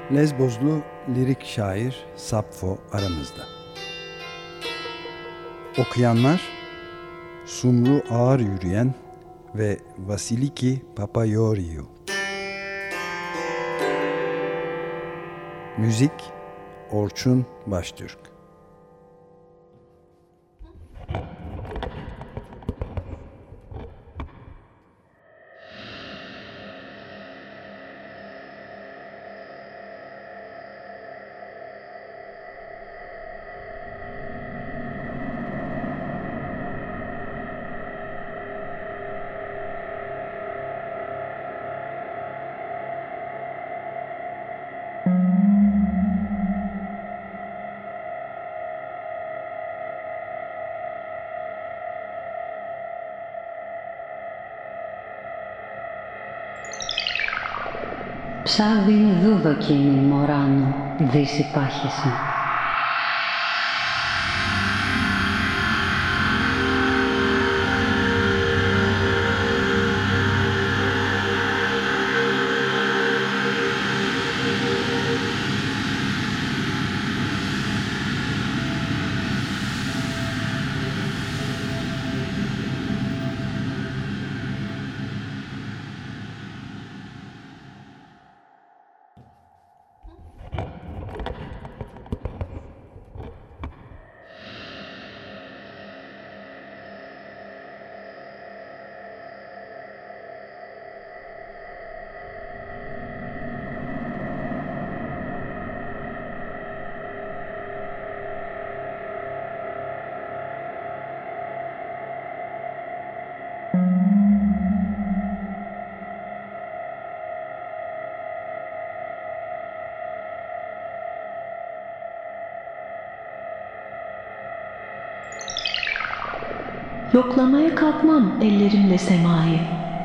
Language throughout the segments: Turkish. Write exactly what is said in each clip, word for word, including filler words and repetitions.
Lezbozlu lirik şair Sapfo aramızda. Okuyanlar Sumru Ağır Yürüyen ve Vasiliki Papayoriou. Müzik Orçun Baştürk. Ψάβιν δούδοκινην μωράνο, δύση πάχεσαι. Yoklamaya kalkmam ellerimle semayı.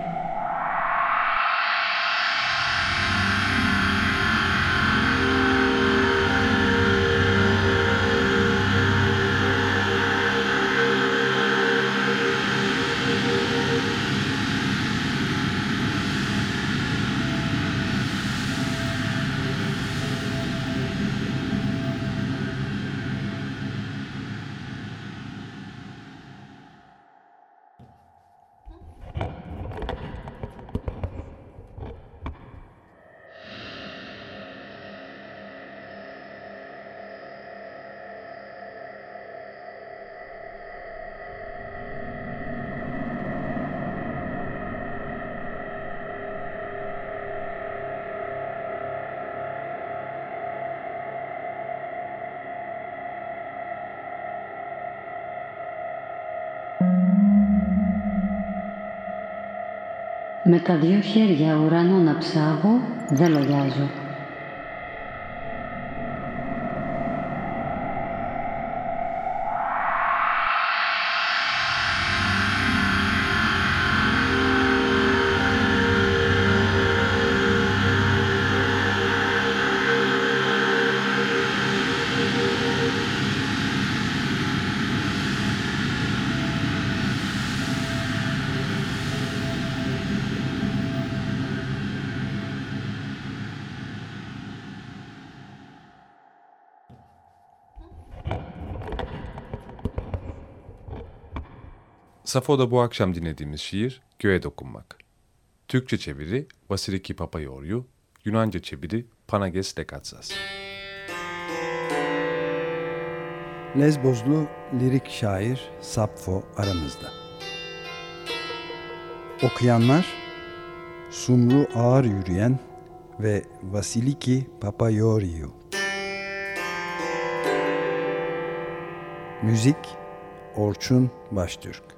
Με τα δυο χέρια ουρανό να ψάβω, δεν λογιάζω. Safo'da bu akşam dinlediğimiz şiir Göğe Dokunmak. Türkçe çeviri Vasiliki Papayoriou, Yunanca çeviri Panages Lekatsas. Lezbozlu lirik şair Sapfo aramızda. Okuyanlar Sumru Ağır Yürüyen ve Vasiliki Papayoriou. Müzik Orçun Baştürk.